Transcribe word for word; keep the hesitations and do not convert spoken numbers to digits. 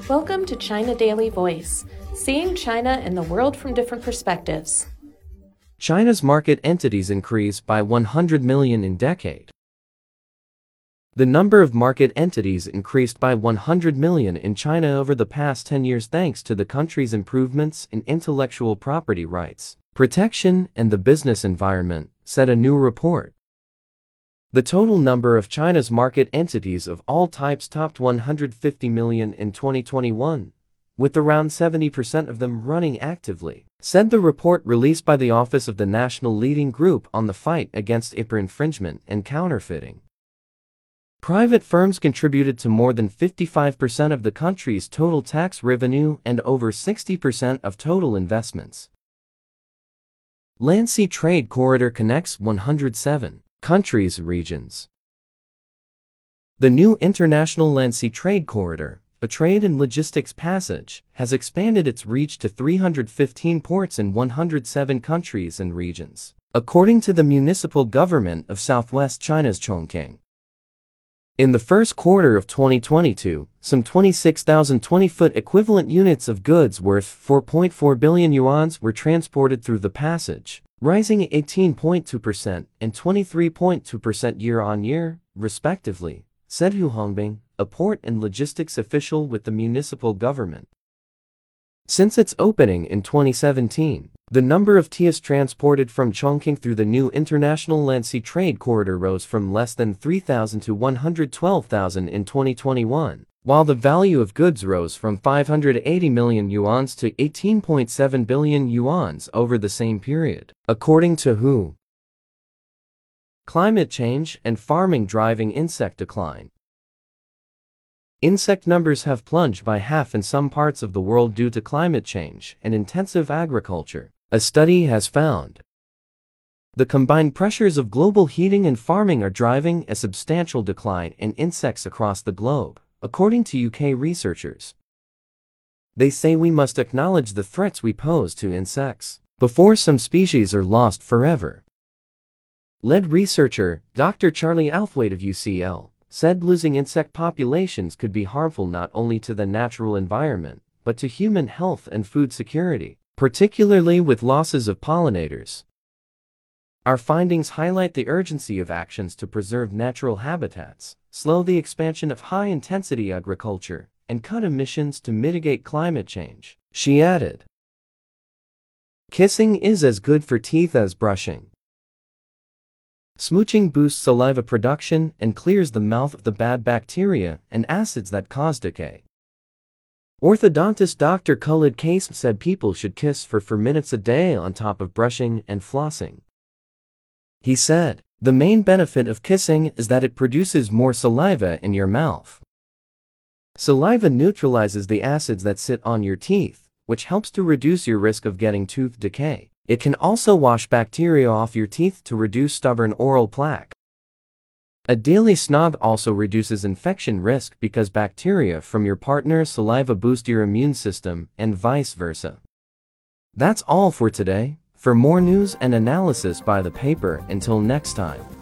Welcome to China Daily Voice, seeing China and the world from different perspectives. China's market entities increased by one hundred million in decade. The number of market entities increased by one hundred million in China over the past ten years thanks to the country's improvements in intellectual property rights, protection, and the business environment, said a new report. The total number of China's market entities of all types topped one hundred fifty million in twenty twenty-one, with around seventy percent of them running actively, said the report released by the Office of the National Leading Group on the Fight Against I P R Infringement and Counterfeiting. Private firms contributed to more than fifty-five percent of the country's total tax revenue and over sixty percent of total investments. Land Sea Trade Corridor connects one hundred seven countries and regions. The new International Land Sea Trade Corridor, a trade and logistics passage, has expanded its reach to three hundred fifteen ports in one hundred seven countries and regions, according to the municipal government of southwest China's Chongqing. In the first quarter of twenty twenty-two, some twenty-six thousand twenty-foot equivalent units of goods worth four point four billion yuan were transported through the passage, rising eighteen point two percent and twenty-three point two percent year-on-year, respectively, said Hu Hongbing, a port and logistics official with the municipal government. Since its opening in twenty seventeen, the number of T I S transported from Chongqing through the new International Land Sea Trade Corridor rose from less than three thousand to one hundred twelve thousand in twenty twenty-one, while the value of goods rose from five hundred eighty million yuan to eighteen point seven billion yuan over the same period, according to W H O. Climate change and farming driving insect decline. Insect numbers have plunged by half in some parts of the world due to climate change and intensive agriculture, a study has found. The combined pressures of global heating and farming are driving a substantial decline in insects across the globe, according to U K researchers. They say we must acknowledge the threats we pose to insects before some species are lost forever. Lead researcher Doctor Charlie Althwaite of U C L said losing insect populations could be harmful not only to the natural environment, but to human health and food security, particularly with losses of pollinators. Our findings highlight the urgency of actions to preserve natural habitats, slow the expansion of high-intensity agriculture, and cut emissions to mitigate climate change, she added. Kissing is as good for teeth as brushing. Smooching boosts saliva production and clears the mouth of the bad bacteria and acids that cause decay. Orthodontist Doctor Khalid Kasem said people should kiss for four minutes a day on top of brushing and flossing. He said, the main benefit of kissing is that it produces more saliva in your mouth. Saliva neutralizes the acids that sit on your teeth, which helps to reduce your risk of getting tooth decay. It can also wash bacteria off your teeth to reduce stubborn oral plaque. A daily snog also reduces infection risk because bacteria from your partner's saliva boost your immune system, and vice versa. That's all for today. For more news and analysis by the paper, until next time.